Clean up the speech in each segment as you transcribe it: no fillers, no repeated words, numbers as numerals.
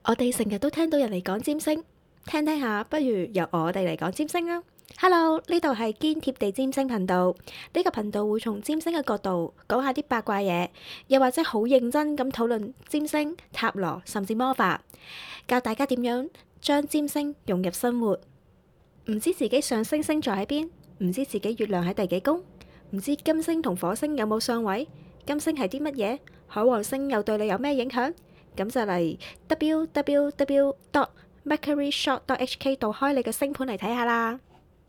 我哋成日都聽到人嚟講占星，聽聽下，不如由我哋嚟講占星啦。Hello，呢度係堅貼地占星頻道。呢個頻道會從占星嘅角度講下啲八卦嘢，又或者好認真咁討論占星、塔羅甚至魔法，教大家點樣將占星融入生活。唔知自己上升星座喺邊，唔知自己月亮喺第幾宮，唔知金星同火星有冇相位，金星係啲乜嘢，海王星又對你有咩影響？咁就嚟 www.mercuryshop.hk 度開你嘅星盤嚟睇下啦。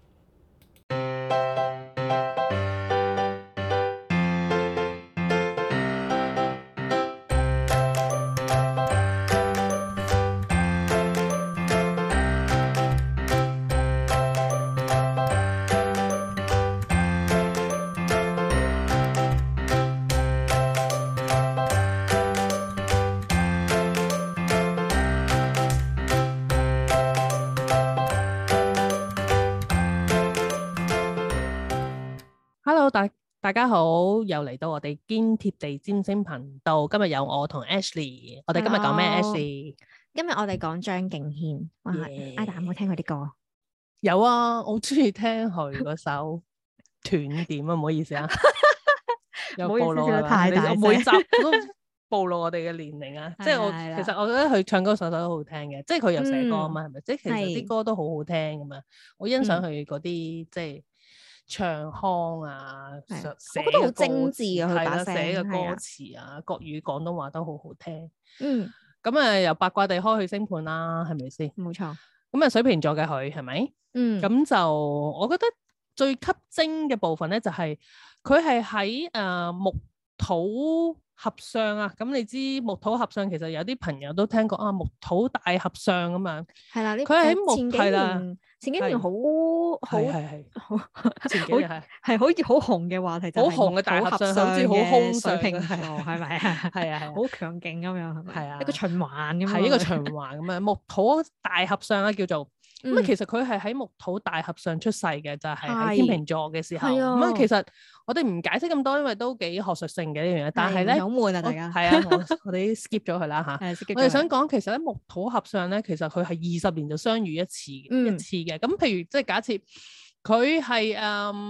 Hello，大家好，又嚟到我哋堅貼地占星頻道。今日有我同 Ashley， 我哋今日講咩 Hello ？Ashley， 今日我哋講張敬軒。哇 Yeah Ada 有冇聽佢啲歌？ 有啊，我好中意聽佢嗰首斷點啊，唔好意思啊，有暴露係嘛？ 太大聲我每集都暴露我哋嘅年齡啊，即係我係啦其實我覺得佢唱歌首首都好聽嘅，即係佢有寫歌啊嘛，係咪？即係其實係啲歌都好好聽噶嘛，我欣賞佢嗰啲即係唱腔啊， 係寫我覺得好嘅歌精緻啊佢係啦， 把聲寫嘅歌係啊詞啊，國語廣東話都好好聽。 嗯， 咁啊，由八卦地開去星盤啦，係咪先？ 冇錯。 咁啊，水瓶座嘅佢係咪？ 嗯， 咁就我覺得最吸睛嘅部分咧，就係佢係喺木土合相啊。咁你知木土合相，其實有啲朋友都聽過啊，木土大合相咁樣。 係啦，呢佢係喺木前幾係啦， 前幾年好係好前幾年係係好似好紅嘅話題，就好係紅嘅大合相，好似好嘅空水瓶座， 係係咪啊？ 係啊係啊， 好強勁咁樣，係咪？ 係啊， 一個循環咁樣， 係一個循環咁樣，木土大合相啦，叫做咁啊。其實佢係喺木土大合相出世嘅，就係喺天秤座嘅時候。 係啊咁啊，其實我哋唔解釋咁多，因為都幾學術性嘅呢樣嘢。但係咧， 好悶啊，大家係啊，我哋 skip 咗佢啦嚇。我哋想講，其實咧木土合相咧，其實佢係20年就相遇一次嘅。咁譬如即係假設佢係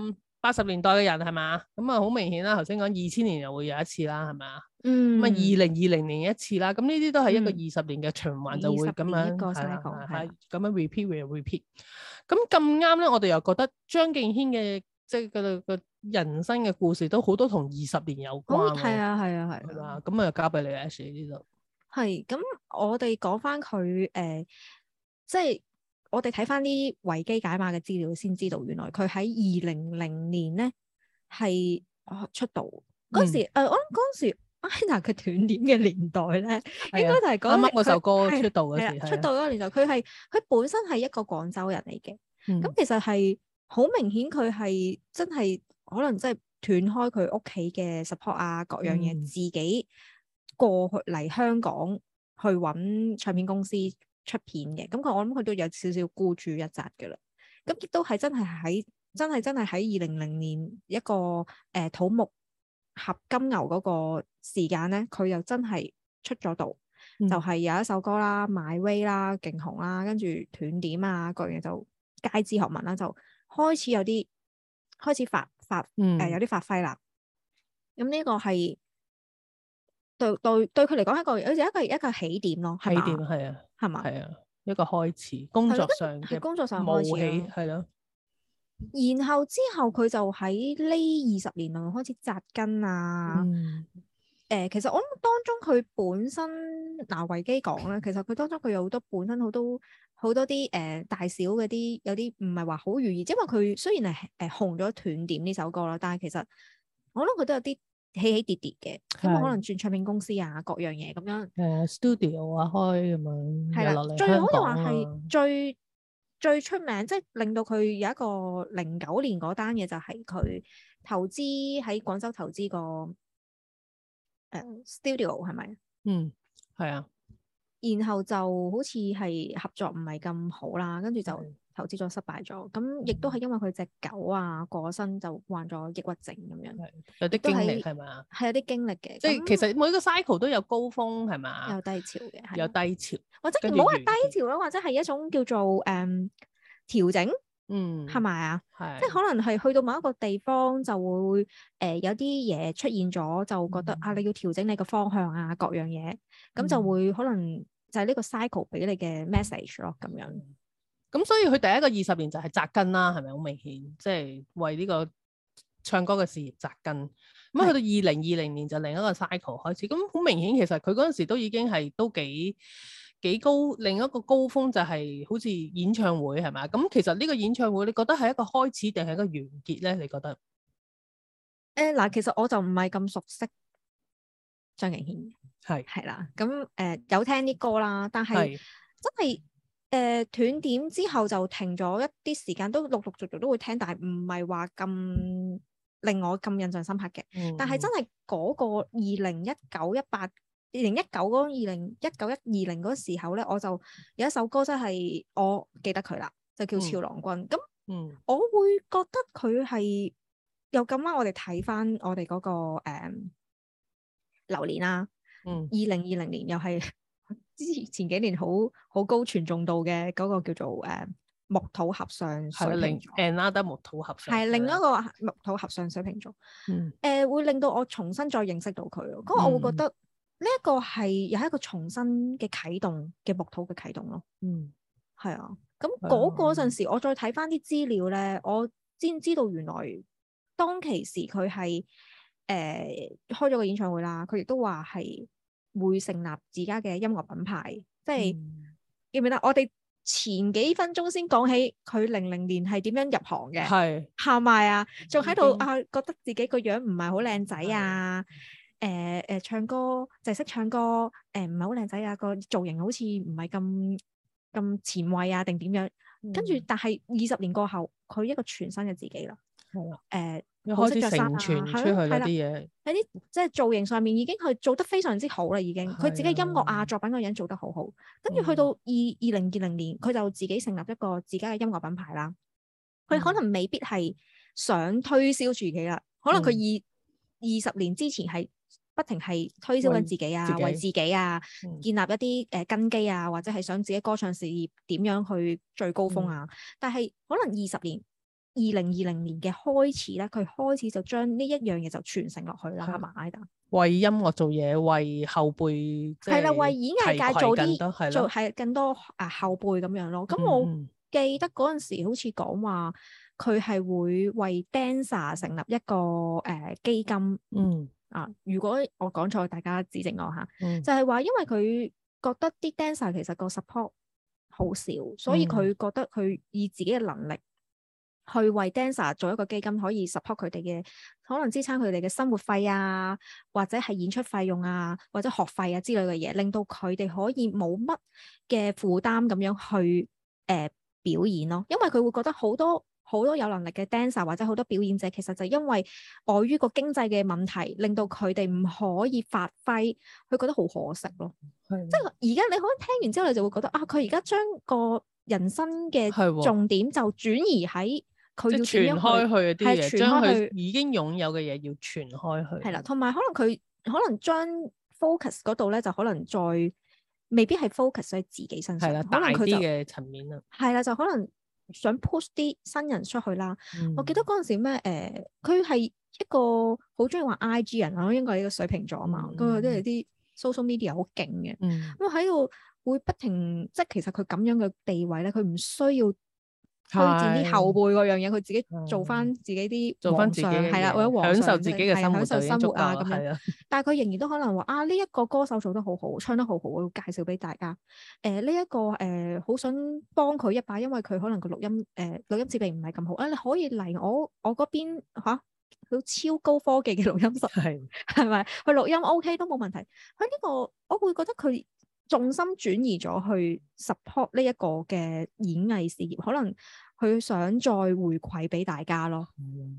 80年代嘅人係嘛？咁啊好明顯啦。頭先講2000年又會有一次啦，係咪啊？咁啊2020年一次啦。咁呢啲都係一個20年嘅循環，就會咁樣係啦，咁樣 repeat。咁咁啱咧，我哋又覺得張敬軒嘅即係個人生嘅故事都好多同20年有關。 係啊。 咁啊交俾你 Ashley 呢度。 係咁，我哋講翻佢即係我哋睇翻啲維基解碼嘅資料，先知道原來佢喺2000年咧係出道嗰時。我諗嗰時 Ina 嘅斷點嘅年代咧，應該就係啱啱嗰首歌出道嗰時， 出道嗰個年代，佢本身係一個廣州人嚟嘅。咁其實係好明顯，佢係真係可能真係斷開佢屋企嘅 support 啊，各樣嘢，自己過去嚟香港去揾唱片公司出片嘅。咁我諗佢都有少少孤注一擲嘅啦。咁亦都係真係喺2000年一個土木合金牛嗰個時間咧，佢又真係出咗道。就係有一首歌啦，My Way 啦，勁紅啦，跟住斷點啊，各樣嘢就街知巷聞啦，就開始有啲有啲發揮啦。咁呢個係對佢嚟講一個起點咯， 起點係啊， 係嘛？ 係啊，一個開始工作上開始係咯。 然後之後佢就喺呢20年內開始紮根啊。其實我諗當中佢本身維基講咧，其實佢當中佢有好多本身好多啲大小嗰啲有啲唔係話好如意，因為佢雖然係紅咗斷點呢首歌啦，但係其實我諗佢都有啲起起跌跌嘅，因為可能轉唱片公司啊，各樣嘢咁樣。 studio 啊開咁樣， 係啦，最好就話係最出名，即係令到佢有一個09年嗰單嘢，就係佢投資喺廣州投資個studio 係咪？ 係啊。 然後就好似係合作唔係咁好啦，跟住就投資咗失敗咗，咁亦都係因為佢隻狗啊過身就患咗抑鬱症咁樣， 有啲經歷係咪啊？ 係有啲經歷嘅， 即係其實每個 cycle 都有高峰係咪？ 有低潮嘅， 有低潮， 或者唔好話低潮咯，或者係一種叫做調整，係咪啊？即係可能係去到某一個地方就會有啲嘢出現咗，就覺得啊你要調整你個方向啊各樣嘢，咁就會可能就係呢個 cycle 俾你嘅 message 咯咁樣。 咁所以佢第一個20年就係扎根啦，係咪好明顯？即係為呢個唱歌嘅事業扎根。咁去到2020年就另一個 cycle 開始，咁好明顯其實佢嗰陣時都已經係都幾高，另一個高峰就係好似演唱會係咪？咁其實呢個演唱會你覺得係一個開始定係一個完結咧？你覺得？ 嗱，其實我就唔係咁熟悉張敬軒，係啦，咁有聽啲歌啦，但係真係斷點之後就停咗一啲時間，都陸陸續續都會聽，但係唔係話咁令我咁印象深刻嘅。但係真係嗰個2019、18、2019嗰2019、2020嗰時候咧，我就有一首歌真係我記得佢啦，就叫《俏郎君》。咁我會覺得佢係又咁啱，我哋睇翻我哋嗰個流年啦。2020年又係之前幾年好高傳頌度嘅嗰個叫做木土合相水瓶座 ，another 木土合相係另一個木土合相水瓶座，會令到我重新再認識到佢咯。咁我會覺得呢一個係又係一個重新嘅啟動嘅木土嘅啟動咯。係啊。咁嗰陣時我再睇翻啲資料咧，我先知道原來當其時佢係開咗個演唱會啦，佢亦都話係會成立自家嘅音樂品牌，即係記唔記得我哋前幾分鐘先講起佢00年係點樣入行嘅，係咪啊？仲喺度覺得自己個樣唔係好靚仔啊，唱歌就係識唱歌，唔係好靚仔啊，個造型好似唔係咁前衛啊，定點樣？跟住但係20年過後，佢一個全新嘅自己啦。 開始成傳出去嗰啲嘢， 喺啲即係造型上面已經佢做得非常之好啦，已經佢自己音樂啊作品個樣做得好好。跟住去到2020年，佢就自己成立一個自家嘅音樂品牌啦。佢可能未必係想推銷自己啦，可能佢20年之前係不停係推銷緊自己啊，為自己啊建立一啲根基啊，或者係想自己歌唱事業點樣去最高峰啊。但係可能2020年嘅開始咧，佢開始就將呢一樣嘢就傳承落去啦，係嘛？Ida 為音樂做嘢，為後輩係啦， 為演藝界做係更多後輩咁樣咯。咁我記得嗰陣時好似講話佢係會為 dancer 成立一個基金。如果我講錯，大家指正我嚇。就係話因為佢覺得啲 dancer 其實個 support 好少，所以佢覺得佢以自己嘅能力去為 dancer 做一個基金，可以 support 佢哋嘅，可能支撐佢哋嘅生活費啊，或者係演出費用啊，或者學費啊之類嘅嘢，令到佢哋可以冇乜嘅負擔咁樣去表演咯。因為佢會覺得好多有能力嘅 dancer 或者好多表演者，其實就因為礙於個經濟嘅問題，令到佢哋唔可以發揮，佢覺得好可惜咯。即係而家你可能聽完之後，你就會覺得佢而家將個人生嘅重點就轉移喺佢要傳開去嗰啲嘢，將佢已經擁有嘅嘢要傳開去。 係啦，同埋可能佢將 focus 嗰度咧，就可能再未必係 focus 喺自己身上，可能佢就大啲嘅層面啦。 係啦，就可能想 push 啲新人出去啦。我記得嗰陣時咩佢係一個好中意玩 IG 人啊，應該係一個水瓶座啊嘛，佢都係啲 social media 好勁嘅。咁喺度會不停，即係其實佢咁樣嘅地位咧，佢唔需要推薦啲後輩嗰樣嘢，佢自己做翻自己啲做翻自己係啦，或者享受自己嘅生活， 享受生活啊咁樣。但係佢仍然都可能話呢一個歌手做得好好，唱得好好，我要介紹俾大家。呢一個好想幫佢一把，因為佢可能個錄音設備唔係咁好。你可以嚟我嗰邊好超高科技嘅錄音室，係咪？佢錄音 OK 都冇問題。佢呢個我會覺得佢重心轉移咗去 support 呢一個嘅演藝事業，可能佢想再回饋俾大家咯。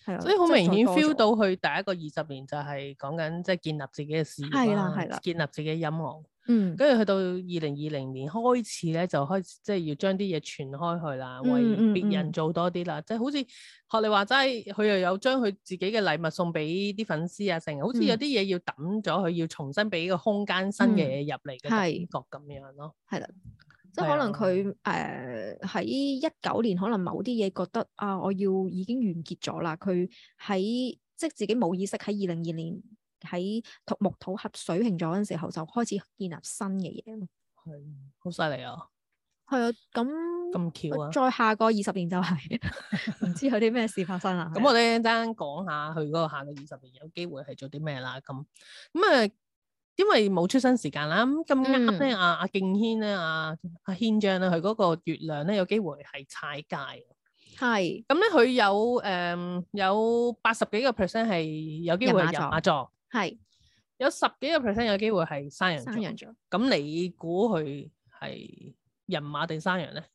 係啊， 所以好明顯 feel 到佢第一個20年就係講緊即係建立自己嘅事業啦， 係啦， 建立自己嘅音樂。 跟住去到2020年開始咧，就開始即係要將啲嘢傳開去啦，為別人做多啲啦。即係好似學你話齋，佢又有將佢自己嘅禮物送俾啲粉絲啊，成日好似有啲嘢要抌咗佢，要重新俾個空間新嘅嘢入嚟嘅感覺咁樣咯。 係啦，即係可能佢喺19年，可能某啲嘢覺得啊，我要已經完結咗啦。佢喺即係自己冇意識喺2020年。喺木土合水瓶座嗰陣時候就開始建立新嘅嘢咯， 係好犀利啊！ 係啊，咁巧啊！ 再下個20年就係唔知有啲咩事發生啦。 咁我哋一陣講下佢嗰個下個20年有機會係做啲咩啦。咁啊，因為冇出生時間啦，咁啱咧，阿敬軒咧，阿軒章咧，佢嗰個月亮咧有機會係踩界。係咁咧，佢有80幾個%係有機會係人馬座。係有10幾個%有機會係山羊座，咁你估佢係人馬定山羊咧？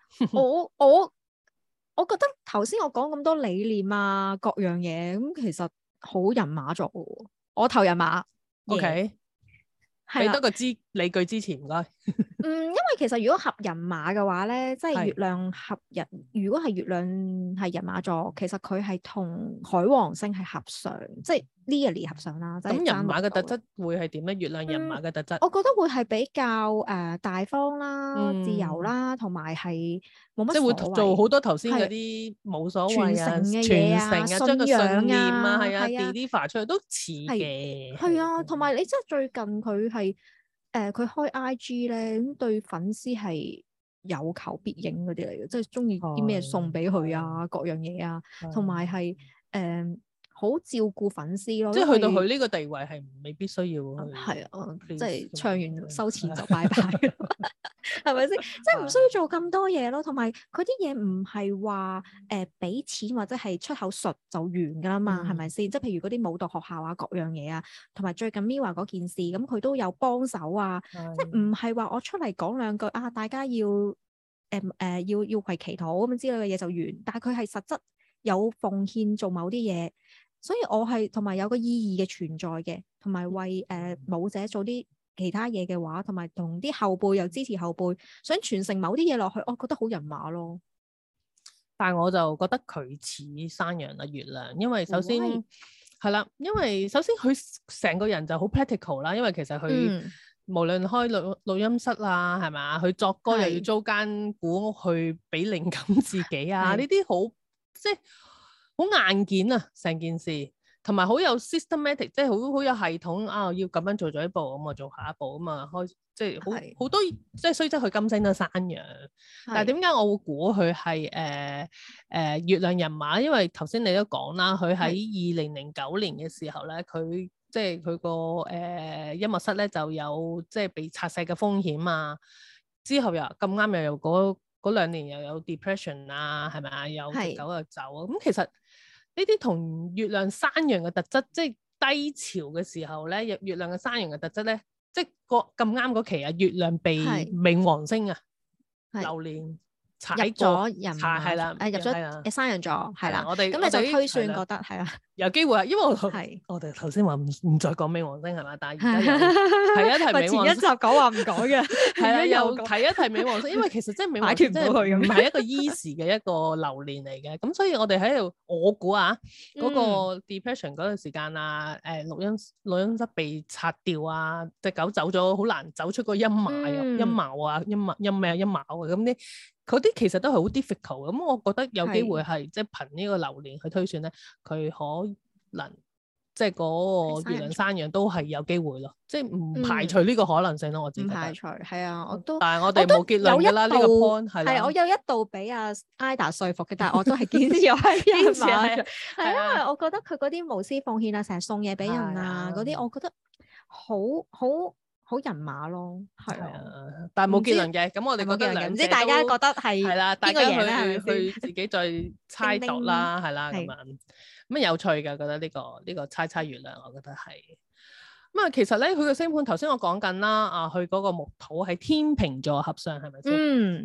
我覺得頭先我講咁多理念啊，各樣嘢咁，其實好人馬座嘅，我投人馬。 OK，俾多個理據支持唔該。 因為其實如果合人馬嘅話咧，即係月亮合人，如果係月亮係人馬座，其實佢係同海王星係合上，即係 nearly 合上啦。咁人馬嘅特質會係點咧？月亮人馬嘅特質， 我覺得會係比較大方啦、自由啦，同埋係冇乜所謂， 即係會做好多頭先嗰啲冇所謂啊、 傳承啊、 將個信念啊， 係啊 deliver 出去都似嘅。 係啊，同埋你即係最近佢係。佢開 IG 咧，咁對粉絲係有求必應嗰啲嚟嘅，即係中意啲咩送俾佢啊，各樣嘢啊，同埋係好照顧粉絲咯。即係去到佢呢個地位係未必需要。 係啊，即係唱完收錢就拜拜，係咪先？即係唔需要做咁多嘢咯。同埋佢啲嘢唔係話俾錢或者係出口術就完㗎啦嘛，係咪先？即係譬如嗰啲舞蹈學校啊，各樣嘢啊，同埋最近 Mirror 嗰件事，咁佢都有幫手啊。即係唔係話我出嚟講兩句啊，大家要要為祈禱咁樣之類嘅嘢就完。但係佢係實質有奉獻做某啲嘢。所以我係同埋有個意義嘅存在嘅，同埋為舞者做啲其他嘢嘅話，同埋同啲後輩又支持後輩，想傳承某啲嘢落去，我覺得好人馬咯。 但係我就覺得佢似山羊啊月亮，因為首先係啦，因為首先佢成個人就好 practical 啦，因為其實佢無論開錄音室啊，係咪，佢作歌又要租間古屋去俾靈感自己啊，呢啲好即係。好硬件啊，成件事，同埋好有 systematic， 即係好有系統啊！要咁樣做咗一步，咁啊做下一步，咁啊開，即係好多，即係雖則佢金星都山羊，但係點解我會估佢係月亮人馬？因為頭先你都講啦，佢喺2009年嘅時候咧，佢即係佢個音樂室咧就有即係被拆卸嘅風險啊，之後又咁啱又有嗰2年又有 depression 啊，係咪啊？有隻狗又走啊，咁其實呢啲同月亮山羊嘅特質，即係低潮嘅時候咧，月亮嘅山羊嘅特質咧，即係咁啱嗰期啊，月亮被冥王星啊流年踩咗人馬，係啦， 入咗山羊座，係啦，咁你就推算覺得係啦， 有機會啊，因為我哋頭先話唔再講冥王星係嘛，但係而家又提一提冥王星， 前一集講話唔講嘅， 係啦，又提一提冥王星，因為其實即係冥王星真係唔係一個 easy 嘅一個流年嚟嘅，咁所以我哋喺度，我估啊，嗰個 depression 嗰段時間啊，錄音室被拆掉啊，隻狗走咗，好難走出個陰霾啊，陰霾啊，咁啲。嗰啲其實都係好 difficult，咁我覺得有機會係即係憑呢個流年去推算咧，佢可能即係嗰個月亮山羊都係有機會咯，即係唔排除呢個可能性咯，我自己覺得。唔排除，係啊，我都。但係我哋冇結論㗎啦，呢個 point 係啦。係，我有一度俾阿 Ida 說服嘅，但係我都係堅持係人馬。係因為我覺得佢嗰啲無私奉獻啊，成日送嘢俾人啊，嗰啲我覺得好人馬咯，係啊，但係冇結論嘅，咁我哋覺得兩者都唔知大家覺得係啦，大家去自己再猜度啦，係啦咁樣，咁有趣嘅，覺得呢個猜月亮，我覺得係咁啊。其實咧，佢個星盤頭先我講緊啦，啊，佢嗰個木土喺天秤座合相係咪先？咁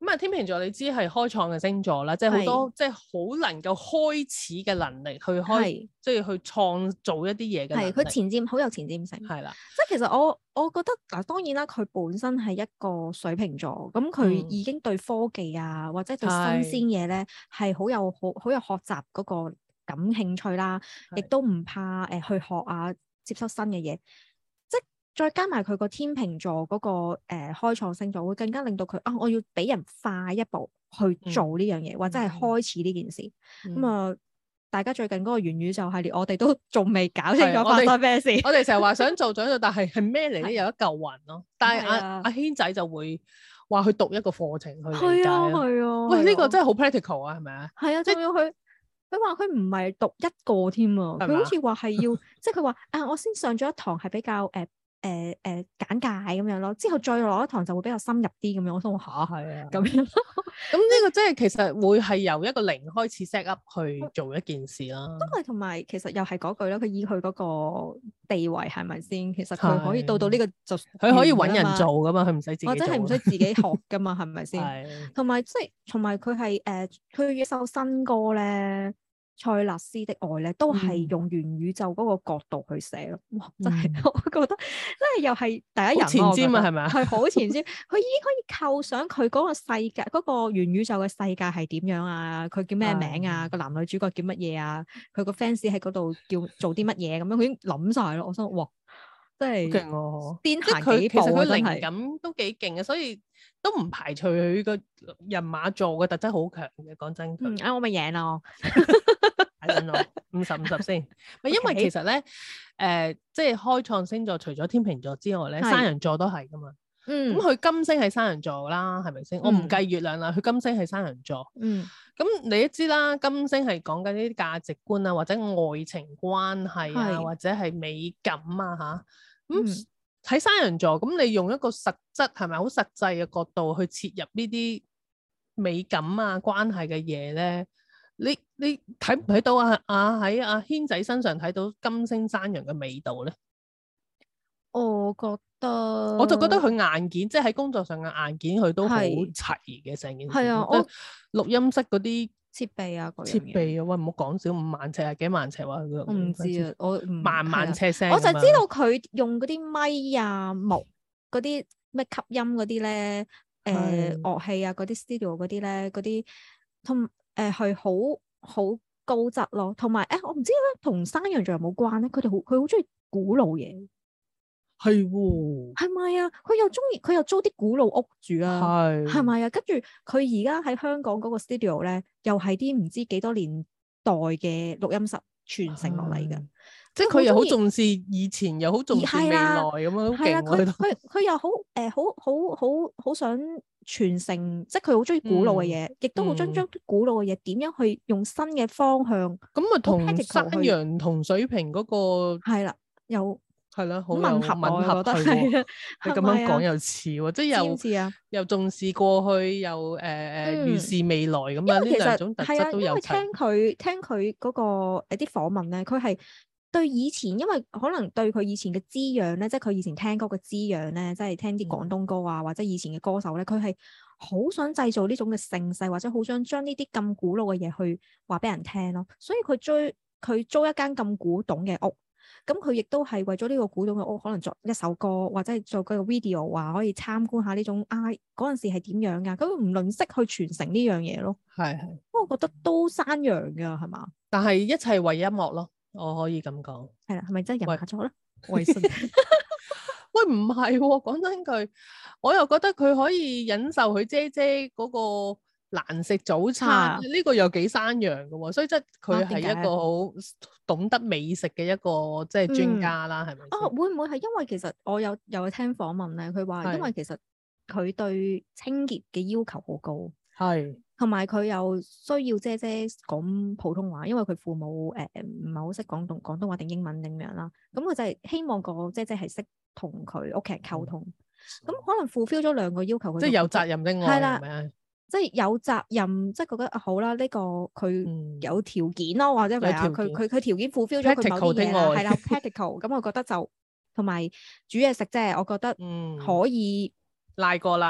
咁啊，天秤座你知係開創嘅星座啦，即係好多即係好能夠開始嘅能力去開，即係去創造一啲嘢嘅能力。係佢前瞻，好有前瞻性。 係啦， 即係其實我覺得嗱，當然啦，佢本身係一個水瓶座，咁佢已經對科技啊或者對新鮮嘢咧係好有學習嗰個感興趣啦，亦都唔怕去學啊，接收新嘅嘢。再加埋佢個天秤座嗰個開創星座，會更加令到佢我要俾人快一步去做呢樣嘢，或者係開始呢件事。咁啊，大家最近嗰個元宇宙系列，我哋都仲未搞清楚發生咩事。 我哋成日話想做，但係咩嚟咧？有一嚿雲咯。但係阿軒仔就會話去讀一個課程去理解。係啊。喂，呢個真係好 practical 啊，係咪啊？ 係啊，仲要佢話佢唔係讀一個添啊，佢好似話係要，即係佢話我先上咗一堂係比較簡介咁樣咯，之後再落一堂就會比較深入啲咁樣。我想話係啊，咁樣。咁呢個即係其實會係由一個零開始 set up 去做一件事啦。 都係同埋其實又係嗰句啦，佢以佢嗰個地位係咪先？其實佢可以到呢個就佢可以揾人做噶嘛，佢唔使自己做， 或者係唔使自己學噶嘛，係咪先？同埋即係同埋佢係佢一首新歌咧。塞勒斯的愛咧，都係用元宇宙嗰個角度去寫咯。哇，真係我覺得，真係又係第一人前瞻啊，係咪啊？係好前瞻，佢已經可以構想佢嗰個世界，嗰個元宇宙嘅世界係點樣啊？佢叫咩名啊？個男女主角叫乜嘢啊？佢個 fans 喺嗰度叫做啲乜嘢咁樣，佢已經諗晒咯。我想哇，真係勁喎！ 邊行幾步啊？ 其實佢靈感都幾勁嘅，所以都唔排除佢個人馬座嘅特質好強嘅。講真佢， 我咪贏咯。 睇緊我50-50先，因為其實咧，即係開創星座除咗天秤座之外咧，山羊座都係噶嘛。咁佢金星係山羊座啦，係咪先？我唔計月亮啦，佢金星係山羊座。咁你都知啦，金星係講緊呢啲價值觀啊，或者愛情關係啊，或者係美感啊吓。咁喺山羊座，咁你用一個實質係咪好實際嘅角度去切入呢啲美感啊關係嘅嘢咧？你睇唔睇到喺阿軒仔身上睇到金星山羊嘅味道咧？我就覺得佢硬件，即係喺工作上嘅硬件，佢都好齊嘅成件事。係啊，錄音室嗰啲設備啊， 設備啊，喂，唔好講少，5萬尺啊，幾萬尺話佢。 我唔知啊，我萬尺聲。 我就知道佢用嗰啲咪啊、木嗰啲咩吸音嗰啲咧，樂器啊嗰啲 studio 嗰啲咧，嗰啲同係好高質咯。同埋我唔知咧，同山羊座有冇關咧？佢好中意古老嘢。 係喎， 係咪啊？佢又租啲古老屋住啊，係咪啊？跟住佢而家喺香港嗰個 studio 咧，又係啲唔知幾多年代嘅錄音室傳承落嚟嘅， 即係佢又好重視以前，又好重視未來咁樣，好勁喎！ 佢又好想傳承，即係佢好中意古老嘅嘢，亦都好將啲古老嘅嘢點樣去用新嘅方向。 咁啊，同山羊同水瓶嗰個係啦，又。 係啦，好吻合佢喎。你咁樣講又似喎，即係又重視過去，又預視未來咁樣。呢兩種特質都有。因為聽佢嗰個啲訪問咧，佢係對以前，因為可能對佢以前嘅滋養咧，即係佢以前聽歌嘅滋養咧，即係聽啲廣東歌啊，或者以前嘅歌手咧，佢係好想製造呢種嘅盛世，或者好想將呢啲咁古老嘅嘢去話俾人聽咯。所以佢租一間咁古董嘅屋。咁佢亦都係為咗呢個古董嘅屋，可能作一首歌，或者係做個 video 話可以參觀下呢種嗰陣時係點樣㗎？咁唔吝嗇去傳承呢樣嘢咯。係。我覺得都山羊㗎，係嘛？ 但係一切為音樂咯，我可以咁講。 係啦，係咪真係人馬座咧？ 喂，唔係喎，講真句，我又覺得佢可以忍受佢姐姐嗰個難食早餐，呢個又幾山羊嘅喎，所以即係佢係一個好懂得美食嘅一個即係專家啦，係咪？ 會唔會係因為其實我有聽訪問咧，佢話因為其實佢對清潔嘅要求好高，係，同埋佢又需要姐姐講普通話，因為佢父母唔係好識廣東話定英文定樣啦，咁佢就係希望個姐姐係識同佢屋企人溝通，咁可能 fulfill 咗兩個要求， 即係有責任的愛，係咪？ 即係有責任，即係覺得好啦，呢個佢有條件咯，或者係啊，佢條件 fulfill 咗佢某啲嘢啦，係啦 practical，咁我覺得就同埋煮嘢食即係我覺得可以賴過啦，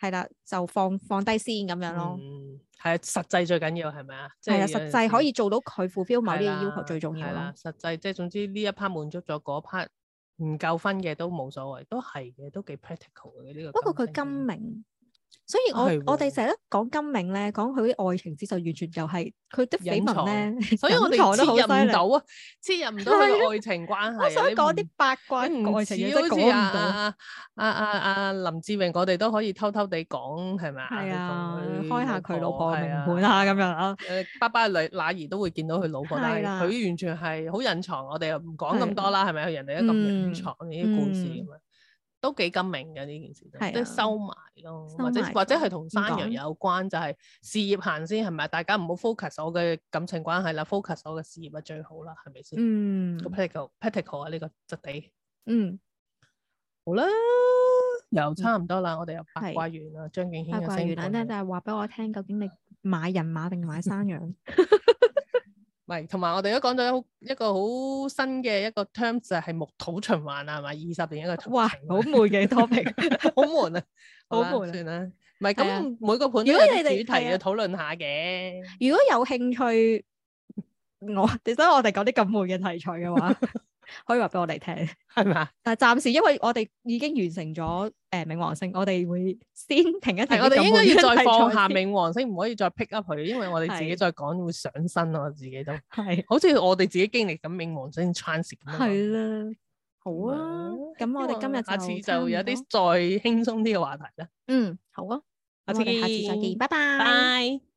係啦，就放低先咁樣咯。 係啊，實際最緊要係咪啊？ 係啊，實際可以做到佢 fulfill 某啲嘅要求最重要咯。 實際即係總之呢一 part 滿足咗，嗰 part 唔夠分嘅都冇所謂，都係嘅，都幾 practical 嘅呢個。 不過佢金明。所以我哋成日都講金明咧，講佢啲愛情之就完全就係佢啲緋聞咧， 所以我哋切入唔到啊，切入唔到佢嘅愛情關係。 我想講啲八卦愛情嘢都講唔到。 阿林志穎，我哋都可以偷偷地講係咪啊？ 係啊，開下佢老婆嘅名盤啊，咁樣啊。 爸爸乸兒都會見到佢老婆，但係佢完全係好隱藏，我哋又唔講咁多啦，係咪？人哋都咁隱藏呢啲故事咁樣。都幾金明嘅呢件事，即係收埋咯，或者係同山羊有關，就係事業行先係咪？大家唔好 focus 我嘅感情關係啦，focus 我嘅事業啊最好啦，係咪先？個 practical 啊呢個質地。好啦，又差唔多啦，我哋又八卦完啦，張敬軒嘅星盤咧就係話俾我聽，究竟你買人馬定買山羊？ 係，同埋我哋都講咗一個好新嘅一個 term 就係木土循環啊，係咪20年一個？ 哇，好悶嘅 topic， 好悶啊， 好悶算啦。唔係咁每個盤都有主題要討論下嘅。 如果有興趣，所以我哋講啲咁悶嘅題材嘅話，可以話俾我哋聽， 係嘛？ 但係暫時因為我哋已經完成咗冥王星，我哋會先停一停。 我哋應該要再放下冥王星，唔可以再 pick up 佢，因為我哋自己再講會上身咯，我自己都係，好似我哋自己經歷緊冥王星 transit 咁樣。 係啦，好啊，咁我哋今日下次就有啲再輕鬆啲嘅話題啦。 好啊，我哋下次再見，拜拜。 拜。